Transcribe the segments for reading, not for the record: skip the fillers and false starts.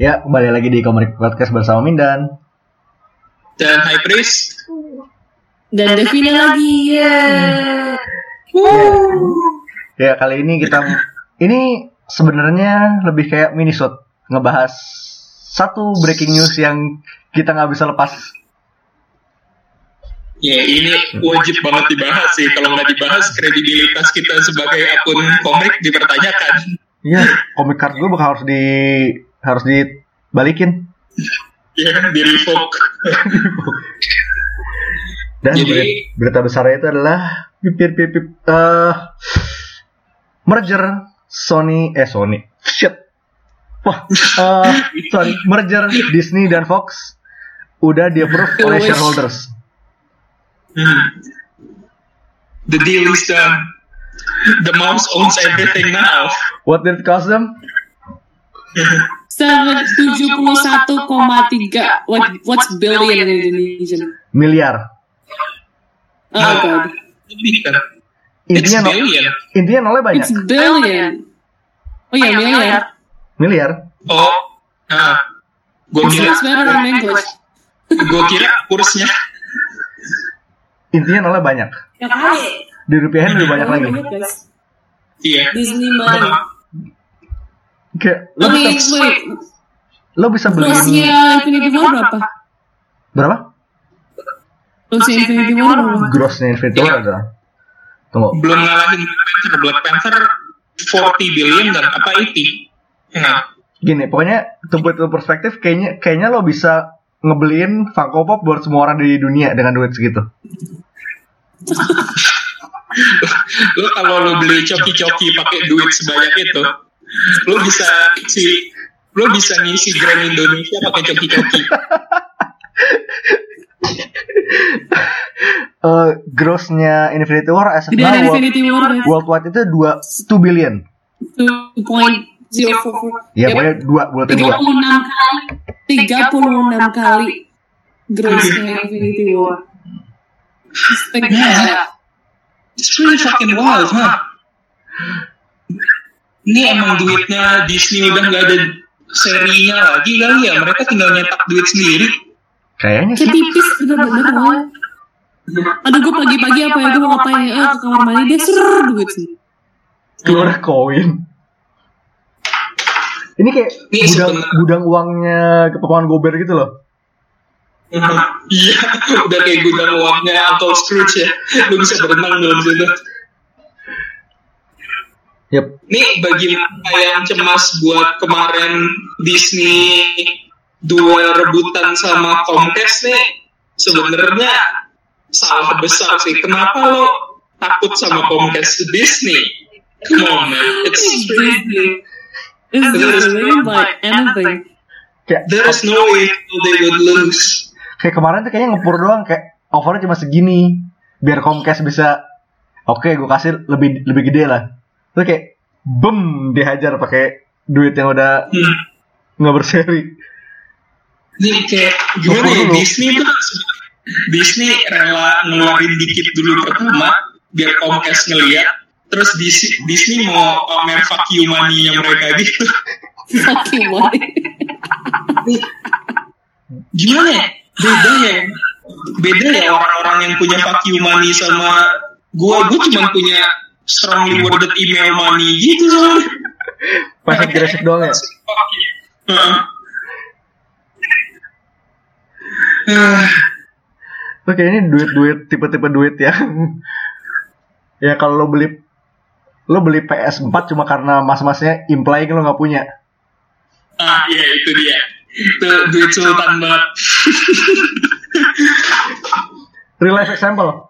Ya, kembali lagi di Komik Podcast bersama Mindan dan High Priest dan Devina lagi ya. Ya, kali ini ini sebenarnya lebih kayak minisode, ngebahas satu breaking news yang kita nggak bisa lepas. Ya, ini wajib banget dibahas sih. Kalau nggak dibahas, kredibilitas kita sebagai akun komik dipertanyakan. Iya, komik card gue bakal harus dibalikin. Iya, di revoke. Dan berita besarnya itu adalah merger merger Disney dan Fox udah di-approve oleh shareholders. The deal is done. The mouse owns everything now. What did it cost them? 71,3. What's billion in Indonesian? Miliar. Oh god. Intinya nolnya banyak. It's billion. Oh ya, Miliar. Oh. Gue kira. Gue kira kursnya. Intinya nolnya banyak. Ya kali. Di rupiahin lebih banyak lagi. Iya. Disney money. Kayak lo bisa beli Grossnya Infinity War berapa? Grossnya Infinity War berapa? Grossnya Infinity War ada. Tunggu. Belum ngalahin Black Panther 40 billion dan apa 80. Gini, pokoknya to put into perspektif, kayaknya lo bisa ngebeliin Funko Pop buat semua orang di dunia dengan duit segitu. Lo kalau lo beli coki-coki pakai duit sebanyak itu, lo bisa ngisi Grand Indonesia pakai coki-coki. Grossnya Infinity War as of now worldwide itu 2 billion. 2.044. Ya, pokoknya 36 kali grossnya Infinity War. It's really fucking wild, huh? Ini emang duitnya Disney udah nggak ada serinya lagi kali ya? Mereka tinggal nyetak duit sendiri. Kayaknya sih. Tipis bener-bener banget. Aduh, gue pagi-pagi apa ya, gue mau ngapain ya, ke kamar mandi dia duit sih. Keluar koin. Ini kayak gudang uangnya keponakan Gober gitu loh. Iya, udah kayak gudang uangnya Uncle Scrooge ya. Lu bisa berenang dalam situ. Yep. Nih bagi yang cemas buat kemarin Disney duel rebutan sama Comcast nih, sebenarnya salah besar sih. Kenapa lo takut sama Comcast Disney? Come on man, it's Disney. There is no way they would lose. Kayak kemarin tuh kayaknya ngepur doang, kayak offernya cuma segini biar Comcast bisa gue kasih lebih gede lah. Terus kayak dihajar pakai duit yang udah nggak berseri. Ini kayak gimana ya, Disney rela ngeluarin dikit dulu pertama biar Comcast ngeliat, terus Disney mau pamer fuck you money-nya mereka gitu. Fuck you money. Gimana ya? Beda ya orang-orang yang punya fuck you money sama gue cuma punya strongly worded email money gitu soalnya. Pasif agresif doang ya? Oke, ini duit tipe-tipe duit yang ya kalau lo beli PS4 cuma karena mas-masnya implying lo nggak punya. Iya itu dia. Itu duit sultan banget. Real life example.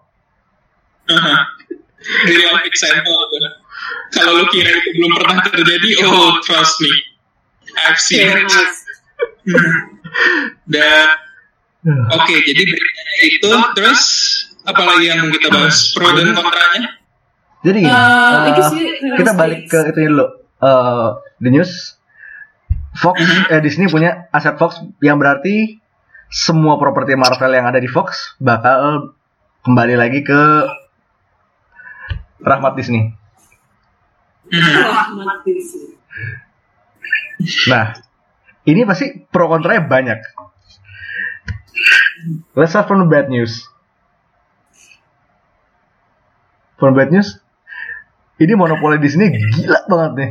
Real life example. Kalau lo kira itu belum pernah terjadi, trust me, I've seen it. Dan oke, jadi beritanya itu, terus apa lagi yang mau kita bahas, pro dan kontranya? Jadi kita balik ke itu dulu. The news. Fox, Disney punya aset Fox yang berarti semua properti Marvel yang ada di Fox bakal kembali lagi ke rahmat Disney. Rahmat Disney. Nah, Ini pasti pro kontranya banyak. Let's start from the bad news. From bad news, ini monopoli di sini gila banget nih.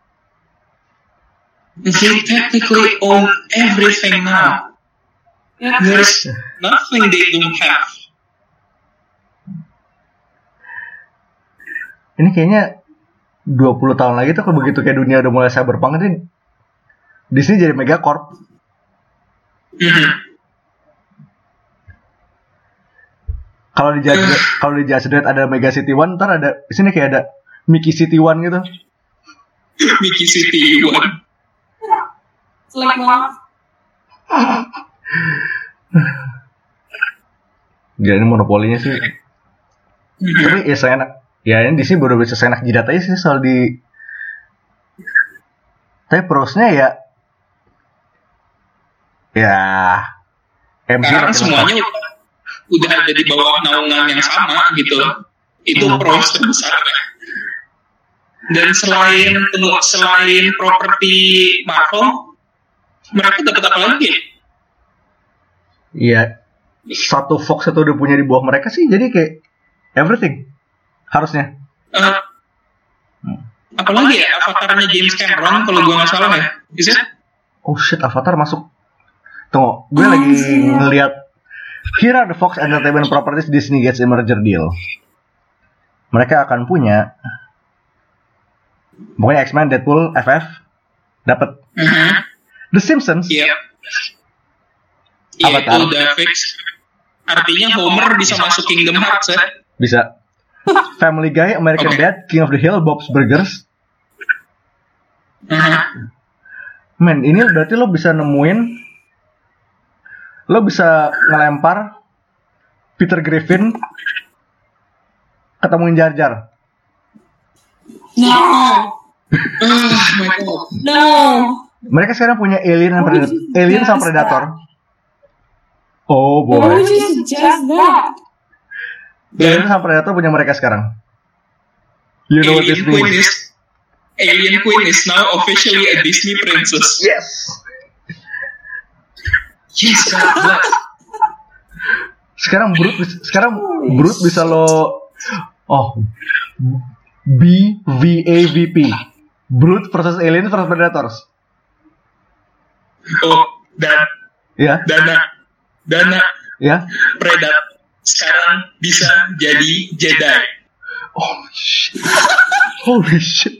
They technically own everything now. There's nothing they don't have. Ini kayaknya 20 tahun lagi tuh begitu kayak dunia udah mulai cyberpunk ini Disney jadi megacorp. Kalau di Just Dance ada Mega City One, ntar ada di sini kayak ada Mickey City One gitu. Mickey City One. Selek banget. Jadi ini monopolinya sih. Tapi ya seenak. Ya ini di sini baru bisa seenak jidat aja sih soal di. Tapi prosnya ya MC karena semuanya udah ada di bawah naungan yang sama gitu. Itu pros terbesarnya. Dan selain properti Marvel, mereka dapat apa lagi? Iya, satu Fox itu udah punya di bawah mereka sih, jadi kayak everything harusnya. Apalagi ya, Avatarnya James Cameron kalau gue nggak salah ya, bisa? Oh shit, Avatar masuk. Tunggu, gue lagi ngeliat. Here are the Fox Entertainment Properties Disney gets a merger deal. Mereka akan punya, pokoknya X-Men, Deadpool, FF, dapat. The Simpsons. Iya. Avatar. Itu udah fix. Artinya Homer bisa masuk Kingdom Hearts ya? Bisa. Family Guy, American Dad, King of the Hill, Bob's Burgers. Men, ini berarti lo bisa ngelempar Peter Griffin ketemuin Jar Jar. No. Oh my god. No. Mereka sekarang punya Alien sama Predator. Oh boy. Why would you suggest that? Alien sama Predator punya mereka sekarang. You know what this means? Alien Queen is now officially a Disney princess. Yes. Yes, God bless. Sekarang Brute bisa lo BVAVP. Brute versus Alien versus Predators. Oh, Ya. Dana. Ya. Predator sekarang bisa jadi Jedi. Oh shit. Holy shit.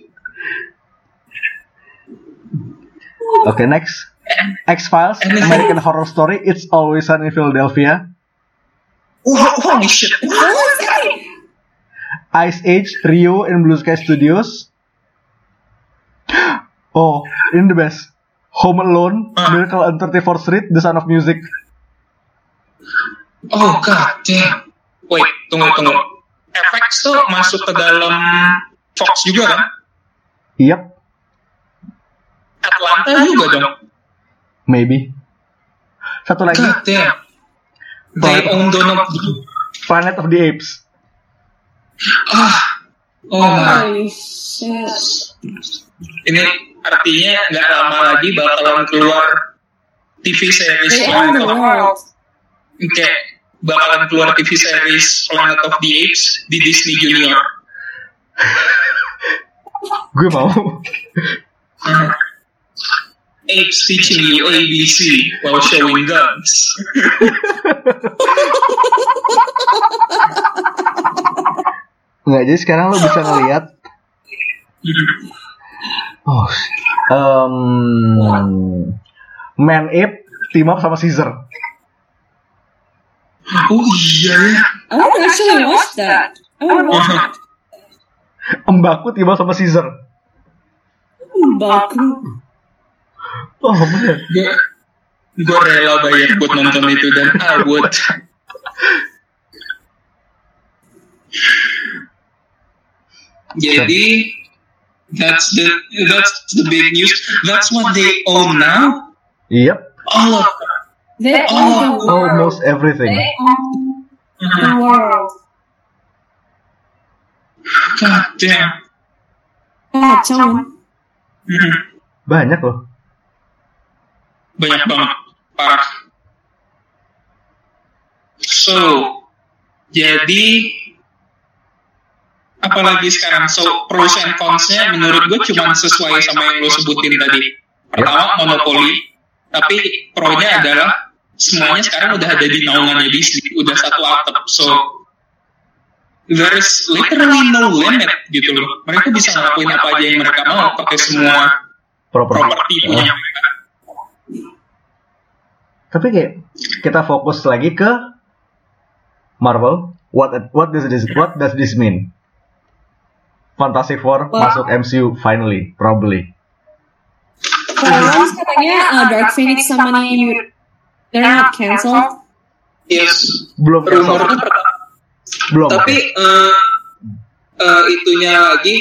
Okay, next. X-Files, American Horror Story, It's Always Sunny in Philadelphia. Holy shit. Ice Age, Rio in Blue Sky Studios. Oh, ini the best. Home Alone, Miracle on 34th Street, The Sound of Music. Oh god damn. Wait, tunggu. FX tuh masuk ke dalam Fox juga kan? Yep. Atlanta juga dong. Maybe. Satu lagi. God damn. They own Donald Trump. Planet of the Apes. Oh my. Holy shit. Ini artinya nggak lama lagi bakalan keluar TV series They own the world. Kayak bakalan keluar TV series Planet of the Apes di Disney Junior. Gue mau. Apes teaching you ABC while showing guns. Nggak, jadi sekarang lo bisa ngelihat. Man Ape team up sama Caesar. Oh iya ya. I want to actually watch that. I want to watch that. Mbaku team up sama Caesar. Baku. Oh man. Gue rela bayar buat nonton itu dan I would. Jadi that's the big news. That's what they own now. Yep. All of them. They own the world. Almost everything. They own the world. God damn. Kacau. Banyak loh. banyak banget, parah. So, jadi apalagi sekarang, so pros and cons-nya menurut gue cuma sesuai sama yang lo sebutin tadi. Pertama, monopoli, tapi pro-nya adalah semuanya sekarang udah ada di naungannya Disney, udah satu atap, so there is literally no limit gitu loh. Mereka bisa ngelakuin apa aja yang mereka mau pakai semua properti punya mereka. Tapi kayak kita fokus lagi ke Marvel. What does this mean? Fantastic Four masuk MCU finally, probably. Kalau katanya Dark Phoenix sama nih, they're not cancelled. Yes. Belum Rumornya belum. Tapi itunya lagi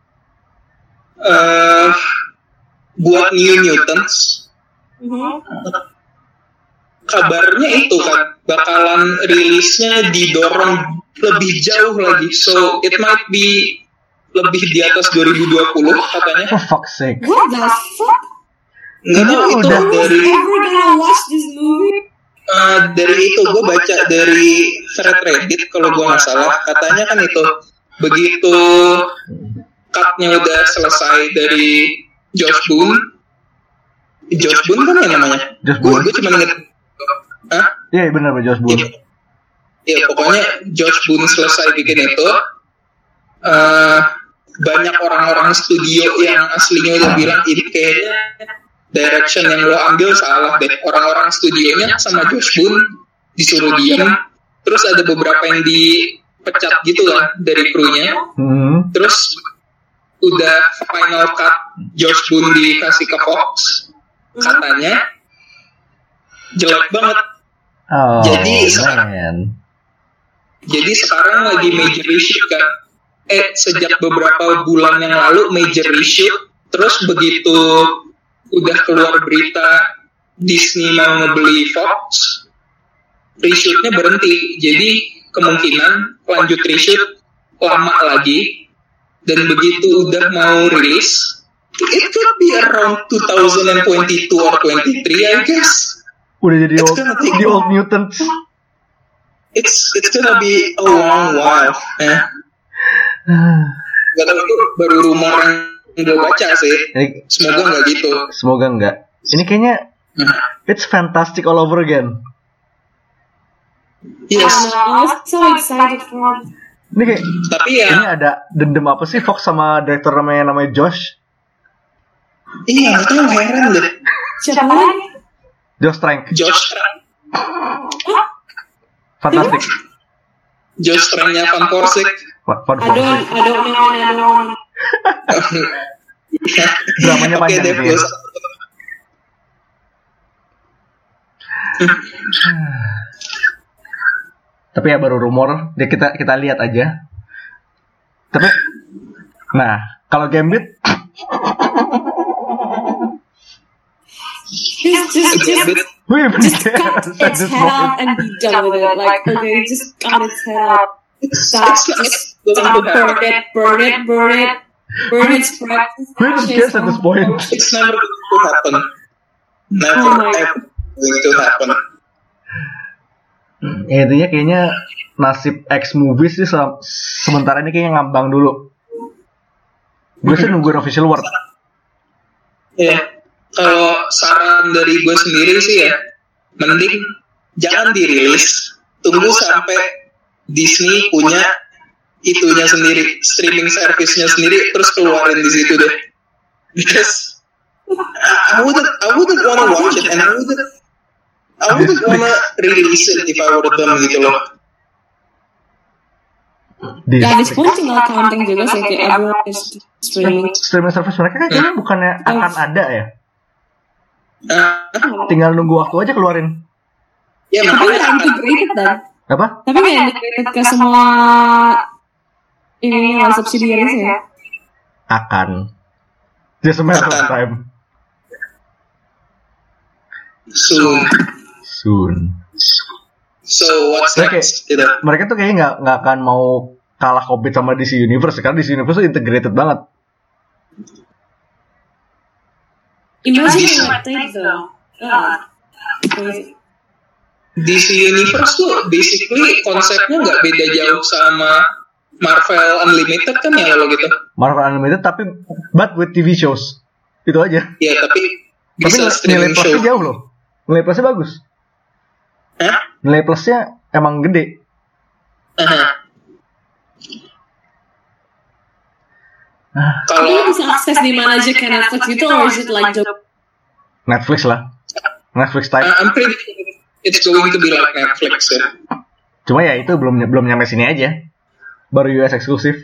buat New Mutants. Kabarnya itu kan bakalan rilisnya didorong lebih jauh lagi. So it might be lebih di atas 2020 katanya. For fuck's sake. What the fuck? Nggak tahu itu udah dari Ever gonna watch this movie? dari itu gue baca dari thread Reddit kalau gue nggak salah, katanya kan itu begitu cutnya udah selesai dari Josh Boone kan ya namanya. Gue cuma inget. Iya benar Josh Boone. Ya pokoknya Josh Boone selesai bikin itu, banyak orang-orang studio yang aslinya udah bilang ini kayaknya direction yang lo ambil salah deh. Orang-orang studionya sama Josh Boone disuruh diam. Terus ada beberapa yang dipecat gitu lah dari krunya. Terus udah final cut Josh Boone dikasih ke Fox. Katanya jelek banget. Jadi sekarang lagi major reshoot kan. Sejak beberapa bulan yang lalu major reshoot. Terus begitu udah keluar berita Disney mau ngebeli Fox, reshootnya berhenti. Jadi kemungkinan lanjut reshoot lama lagi. Dan begitu udah mau rilis, it could be around 2022 or 23 I guess. Udah jadi the old mutants. It's gonna be a long while. Gak tahu itu baru rumor yang gue baca sih. Semoga nggak gitu. Semoga nggak. Ini kayaknya it's fantastic all over again. Yes. I'm so excited for it. Ini kayak, tapi ya. Ini ada dendam apa sih Fox sama direktur namanya Josh? Iya, itu heran deh. Siapa lagi? Josh Trank. Fantastic. Josh Tranknya Van Forsig. I don't know. Dramanya panjang gitu ya. Tapi ya baru rumor, kita lihat aja. Tapi, nah kalau Gambit, just cut its head off and be done with it. Like, okay, just cut its head off. Stop, burn it, spread. who cares at this point? It's never going to happen. Never ever going to happen. Ya, intinya kayaknya nasib X movies sih sementara ini kayaknya ngambang dulu. Gue sih nungguin official word. Ya, kalau saran dari gue sendiri sih ya, mending jangan dirilis, tunggu sampai Disney punya itunya sendiri, streaming service-nya sendiri, terus keluarin di situ deh. Because I wouldn't wanna watch it, and I wouldn't wanna release it if I were them gitu loh. Ya, di Spoon tinggal counting juga sih, kayak everyone is streaming. Streaming service mereka kan kayaknya bukannya akan ada ya? Tinggal nunggu waktu aja keluarin. Ya, Tapi makanya nggak integrated dah. Apa? Tapi nggak integrated ke semua ini yang subsidiaries ya. Akan. Just a matter of time. Soon. So what's next? Okay. Mereka tuh kayaknya nggak akan mau kalah compete sama DC Universe, karena DC Universe tuh integrated banget. Imagine what they though. DC Universe tuh basically konsepnya nggak beda jauh sama Marvel Unlimited kan ya kalau gitu. Marvel Unlimited tapi but with TV shows. Itu aja. Ya tapi bisa nilai plusnya show. jauh loh. Nilai plusnya bagus. Hah? Nilai plusnya emang gede. Kalau bisa akses di mana aja ke Netflix gitu, or is it like Netflix lah. Netflix type. I'm pretty it's going to be like Netflix ya. Cuma ya itu belum nyampe sini aja. Baru US eksklusif.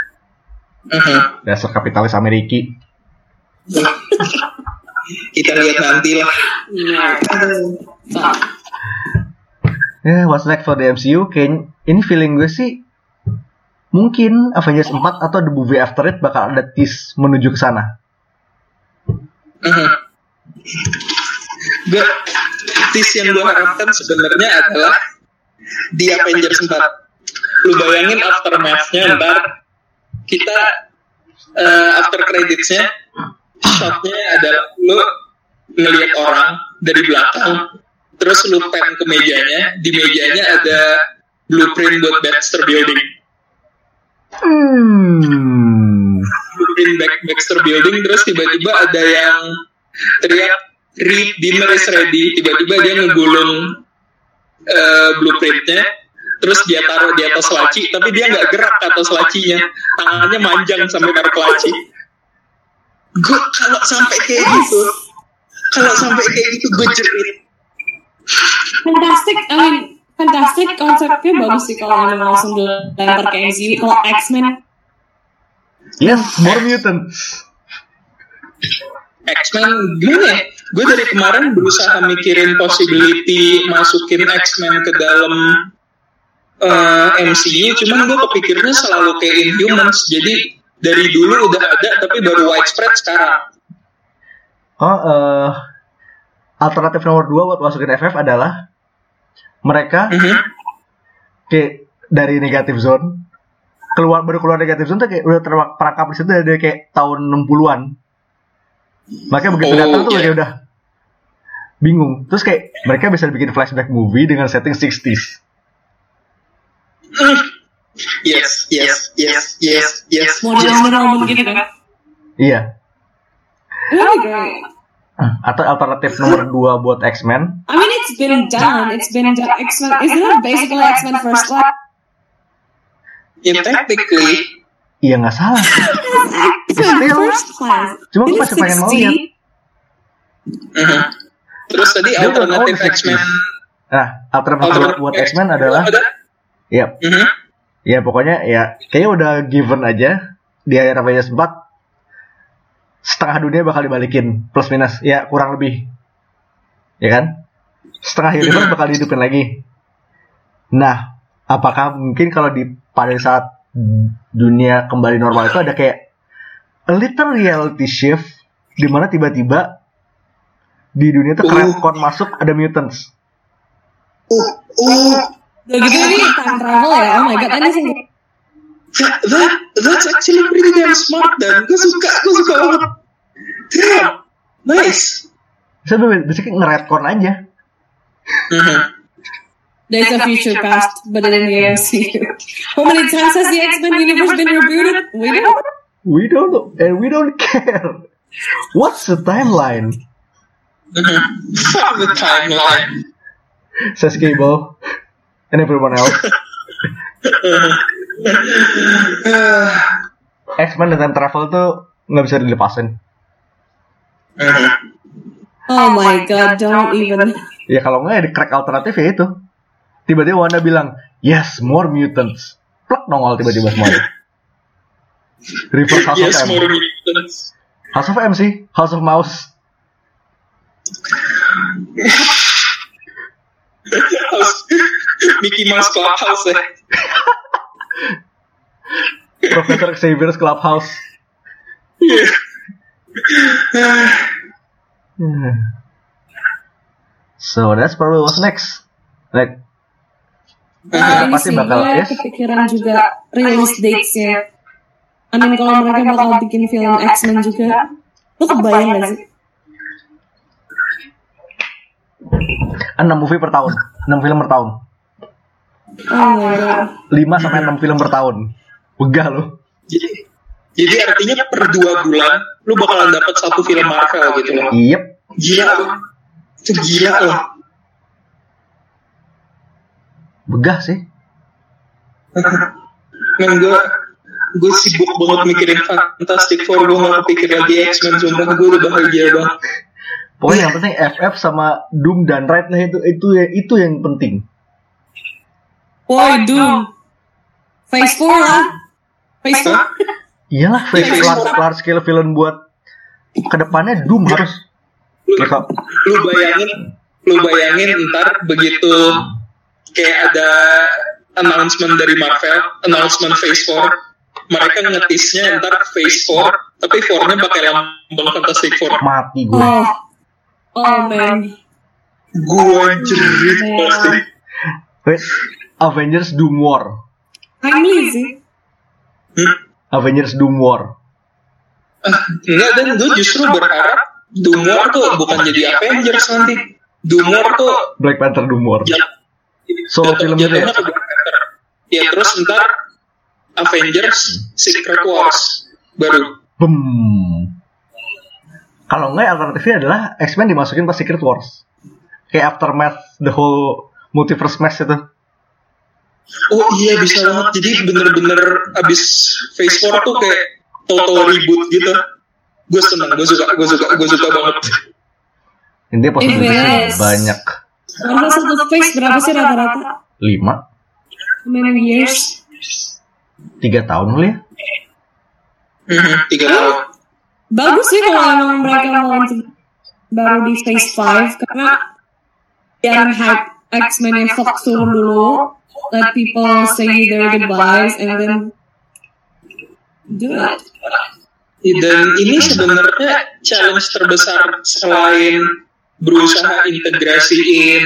Dasar kapitalis Amerika. Kita lihat nanti lah. What's next for the MCU? Kayak ini feeling gue sih mungkin Avengers 4 atau The Movie After It bakal ada tease menuju ke sana. Tease yang gue harapkan sebenarnya adalah di Avengers 4. Lu bayangin aftermath-nya ntar kita after credits-nya shot-nya adalah lu ngelihat orang dari belakang, terus lu pan ke mejanya, di mejanya ada blueprint buat Baxter Building. Blueprint Baxter Building, terus tiba-tiba ada yang teriak "Read, dinner is ready." Tiba-tiba dia ngegulung blueprintnya, terus dia taruh di atas laci, tapi dia nggak gerak ke atas lacinya, tangannya manjang sampai taruh ke laci. Gue kalau sampai kayak gitu gue jerit. Fantastic konsepnya bagus sih kalau memang langsung dilempar ke MCU. Kalau X-Men, yes, more mutants. X-Men gimana ya? Gue dari kemarin berusaha mikirin possibility masukin X-Men ke dalam MCU, cuman gue kepikirnya selalu kayak Inhumans. Jadi dari dulu udah ada tapi baru widespread sekarang. Alternatif nomor 2 buat masukin FF adalah mereka kayak dari negatif zone baru keluar negatif zone tuh kayak udah terperangkap di situ dari kayak tahun 60-an. Makanya begitu datang tuh kayak udah bingung. Terus kayak mereka bisa bikin flashback movie dengan setting 60s. Yes. Model gitu kan? Iya. Really great. Atau alternatif nomor 2 buat X-Men. I mean, it's been done. X-Men. Isn't it basically X-Men First Class? Yeah, technically. Iya nggak salah. X-Men First Class. Cuma gue masih pengen mau lihat. Terus tadi alternatif X-Men. Nah, alternatif buat X-Men adalah. Yap. Ya pokoknya ya kayaknya udah given aja di akhir Avengers 4 setengah dunia bakal dibalikin plus minus ya kurang lebih, ya kan, setengah universe bakal dihidupin lagi. Nah, apakah mungkin kalau pada saat dunia kembali normal itu ada kayak a little reality shift di mana tiba-tiba di dunia itu retcon masuk ada mutants. Udah gitu ini time travel ya, oh my god, ini sih. That's actually pretty damn smart dan gue suka banget. Damn, nice. Bisa basically nge-retcon aja. There's a future past, but in the MCU. How many times has the X-Men universe been rebooted? We don't know, and we don't care. What's the timeline? Fuck the timeline. Says Cable and everyone else. X-Men dan time travel tuh nggak bisa dilepasin. Oh my god, don't even. Ya kalau nggak ya di crack alternatif ya itu. Tiba-tiba Wanda bilang, yes, more mutants. Plak nongol tiba-tiba semuanya. Reverse House yes, of M. More mutants. House of M sih, House of Mouse. Mickey Mouse Clubhouse ya. Professor Xavier's Clubhouse. So that's probably what's next. Like pasti bakal kepikiran juga release dates-nya. I mean kalau mereka bakal bikin film X-Men juga, lo kebayang gak sih? 6 movie per tahun, 6 film per tahun. Oh my god. 5 sampai 6 film per tahun. Begah lu. Jadi artinya per 2 bulan lu bakalan dapat 1 film Marvel gitu loh. Yep. Gila loh. Itu gila loh. Begah sih. Men gue sibuk banget mikirin Fantastic Four, gue gak kepikir lagi X-Men, sumpah gue udah bahagia banget. Pokoknya yang penting FF sama Doom dan Raid, nah itu yang penting. Boy, Doom. Phase 4 lah. Phase 4. Iyalah, phase large scale villain buat kedepannya Doom harus. Lu bayangin ntar begitu kayak ada announcement dari Marvel, announcement Phase 4, mereka ngetisnya ntar Phase 4, tapi 4-nya pakai lambang Fantastic Four. Mati gue. Oh man. Gue jerit pasti. Wait, Avengers Doom War. Timely sih. Avengers Doom War. Enggak, dan gue justru berharap Doom War tuh bukan jadi Avengers nanti. Doom War tuh Black Panther Doom War. Solo film itu ya? Ya terus ntar Avengers Secret Wars baru. Kalau enggak, alternatifnya adalah X-Men dimasukin pas Secret Wars. Kayak Aftermath, the whole multiverse mess itu. Oh iya, bisa banget. Jadi bener-bener abis Phase 4 tuh kayak total reboot gitu. Gue seneng, gue suka banget. Intinya possibilities banyak. Marvel satu phase berapa sih rata-rata? 5. How many years? 3 tahun kali ya? 3 tahun. Bagus sih kalau emang mereka mau baru di phase 5, karena biar hype X-Men yang Fox turun dulu, let people say their goodbyes and then do it. Dan ini sebenarnya challenge terbesar selain berusaha integrasiin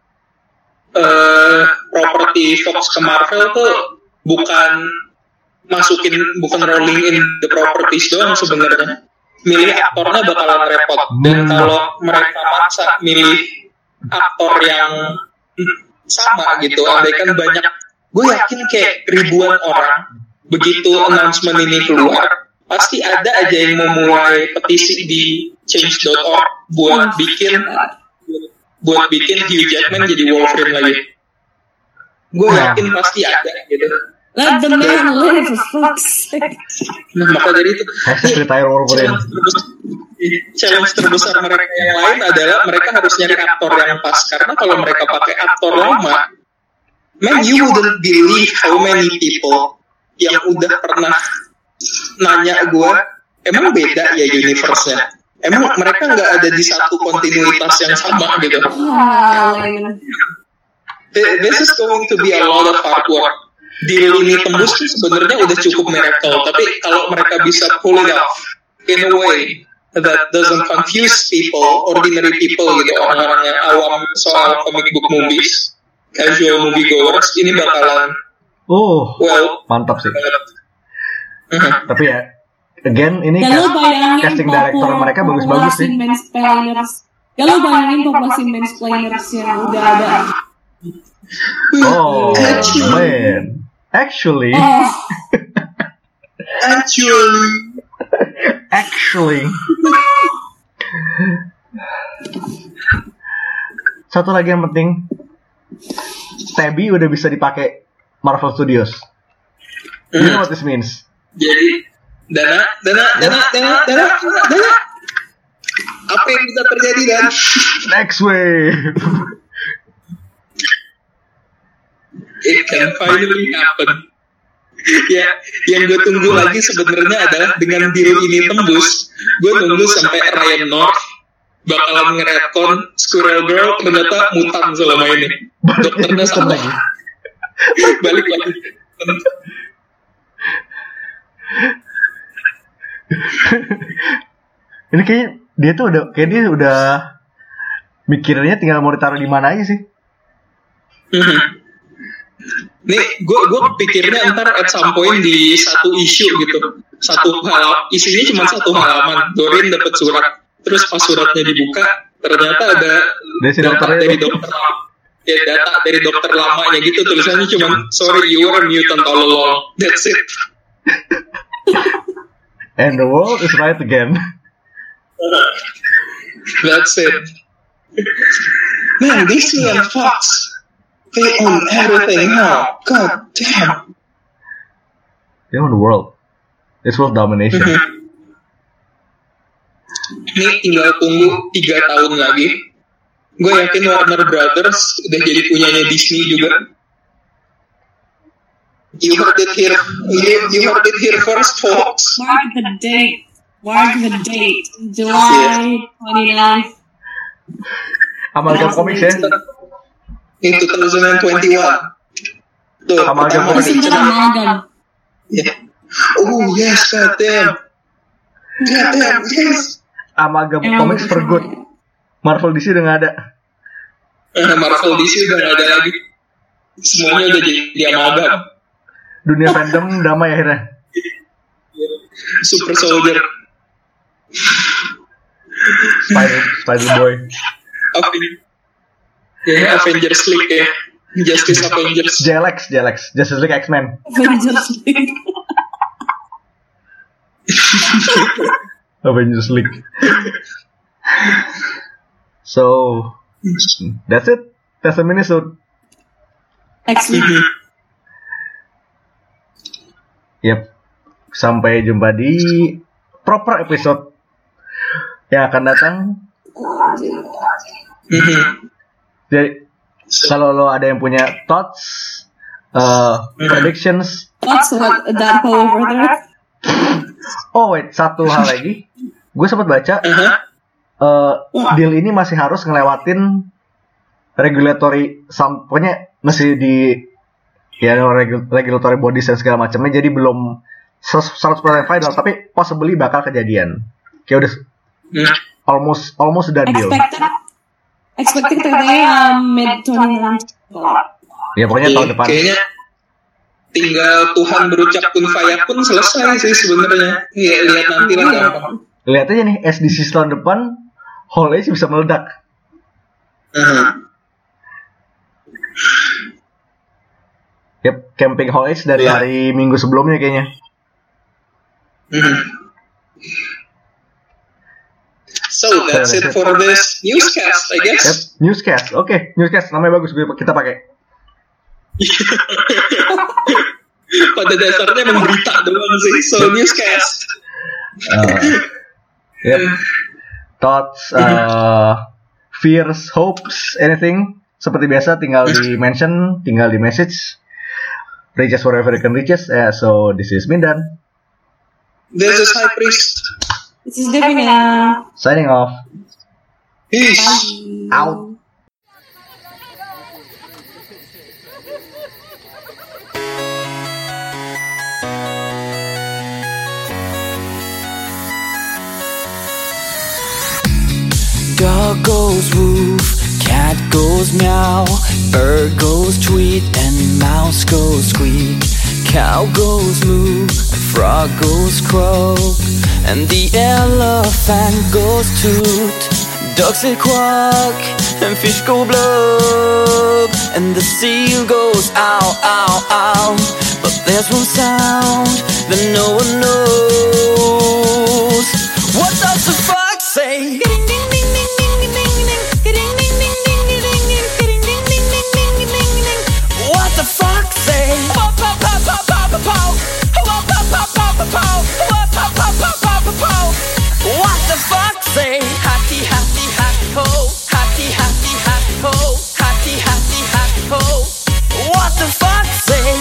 properti Fox ke Marvel tuh bukan rolling in the properties doang sebenarnya. Milih aktornya bakalan repot. Dan kalau mereka maksa milih aktor yang sama gitu, andaikan banyak, gue yakin kayak ribuan orang begitu announcement ini keluar, pasti ada aja yang mau mulai petisi di change.org buat bikin Hugh Jackman jadi Wolverine lagi. Gue yakin pasti ada gitu. Let the man live, for fuck's sake. Nah, maka dari itu retire Wolverine. Challenge terbesar mereka yang lain adalah mereka harus nyari aktor yang pas, karena kalau mereka pakai aktor lama, man, you wouldn't believe how many people yang udah pernah nanya gue, emang beda ya universe-nya? Emang mereka nggak ada di satu kontinuitas yang sama gitu? This is going to be a lot of hard work. Deal ini tembus tuh sebenarnya udah cukup miracle, tapi kalau mereka bisa pull it off in a way that doesn't confuse people, ordinary people gitu, orang-orang yang awam soal comic book movies, casual movie goers, ini bakalan mantap sih. Tapi ya, again ini casting director mereka bagus-bagus sih. Ya lo bayangin populasi mansplainers yang udah ada. Oh man, actually. Satu lagi yang penting, Tabby udah bisa dipakai Marvel Studios. You know what this means? Jadi dana. Apa yang bisa terjadi dan? Next wave. It can finally happen. Ya, yang gue tunggu lagi sebenarnya adalah dengan deal ini tembus, gue tunggu sampai Ryan North bakalan nge-retcon Squirrel Girl ternyata mutan selama ini. Dokternya sama lagi. Balik lagi. Ini kayak dia udah mikirnya tinggal mau ditaruh di mana aja sih. Nih, gue pikirnya ntar at some point di satu isu gitu, isinya cuma satu halaman. Doreen dapat surat, terus pas suratnya dibuka, ternyata ada data dari dokter. Ya, data dari dokter lamanya gitu, tulisannya cuma sorry you were a mutant all along. That's it. And the world is right again. That's it. Man, Disney and Fox, they own everything now. God damn. They own the world. It's world domination. Ini tinggal tunggu 3 tahun lagi. Gue yakin Warner Brothers udah jadi punyanya Disney juga. You heard it here. You heard it here first, folks. Mark the date. July 29th. Amalgam Comics ya? In 2021. Tuh, Amalgam Comics. Yeah. Oh yes, goddamn, yes. Amalgam Comics for good. Marvel DC udah nggak ada. Marvel DC udah nggak ada lagi. Semuanya udah jadi amalgam. Dunia fandom damai akhirnya. Super Soldier, Spider Boy, Avengers League ya, Justice Avengers, JLX, Justice League X-Men. Avengers League. So that's it. That's a minisode. X-Men. Yep. Sampai jumpa di proper episode yang akan datang. Jadi kalau lo ada yang punya thoughts, predictions. Thoughts what that whole over there? Oh wait, satu hal lagi. Gue sempat baca deal ini masih harus ngelewatin regulatory, pokoknya masih di regulatory bodies dan segala macamnya. Jadi belum 100% final, tapi possibly bakal kejadian. Kayak udah almost done deal. Expected mid 2019. Ya pokoknya tahun depan. Kayaknya tinggal Tuhan berucap kun fayakun selesai sih sebenarnya. Iya, lihat nanti lah gampang. Lihat aja nih, SDC tahun depan Hall H bisa meledak. Yep, camping Hall H dari hari Minggu sebelumnya kayaknya. So that's it for this newscast, I guess. Yep, newscast. Oke, newscast namanya bagus, kita pakai. Pada dasarnya emang berita doang sih. So newscast. Yep. Thoughts, fears, hopes, anything. Seperti biasa tinggal di mention, tinggal di message. Reach us wherever you can reach us. So this is Mindan. This is High Priest. This is Divina. Signing off. Peace. Out. Dog goes woof, cat goes meow, bird goes tweet, and mouse goes squeak. Cow goes moo, frog goes croak, and the elephant goes toot. Ducks say quack, and fish go blub, and the seal goes ow, ow, ow. But there's one sound that no one knows. What does the fox say? What the fox say? What the fuck say? Hatty, hatty, hatty ho. Hatty, hatty, hatty ho. Hatty, hatty, hatty ho. What the fuck say?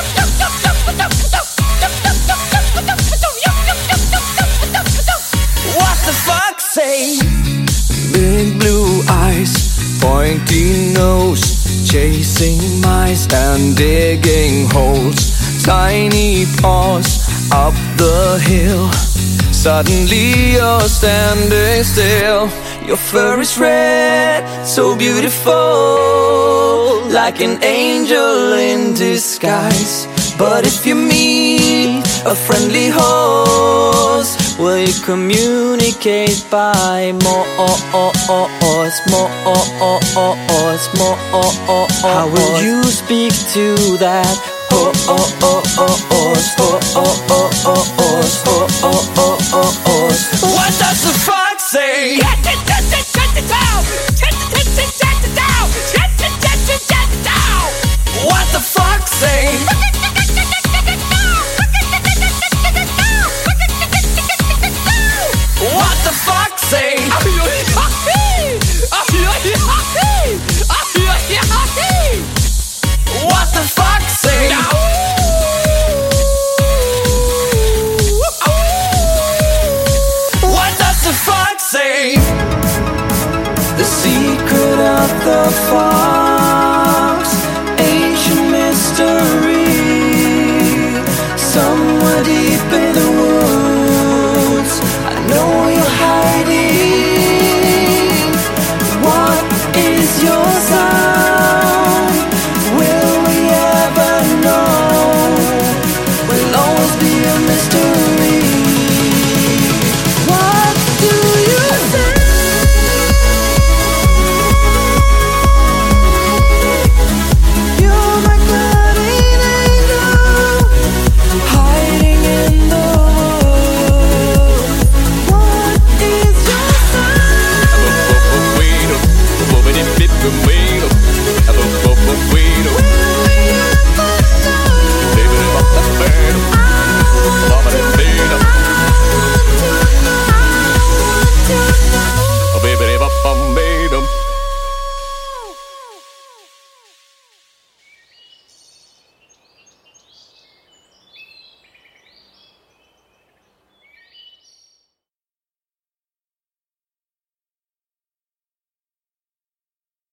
What the fuck say? Big blue eyes, pointy nose, chasing mice and digging holes. Tiny paws up the hill. Suddenly you're standing still. Your fur is red, so beautiful, like an angel in disguise. But if you meet a friendly horse, Will you communicate by Morse? How will you speak to that horse? What does the fox say? What the fox say? What the fox say? What the fox say? What does the fox say? The secret of the fox, ancient mystery, somewhere deep in the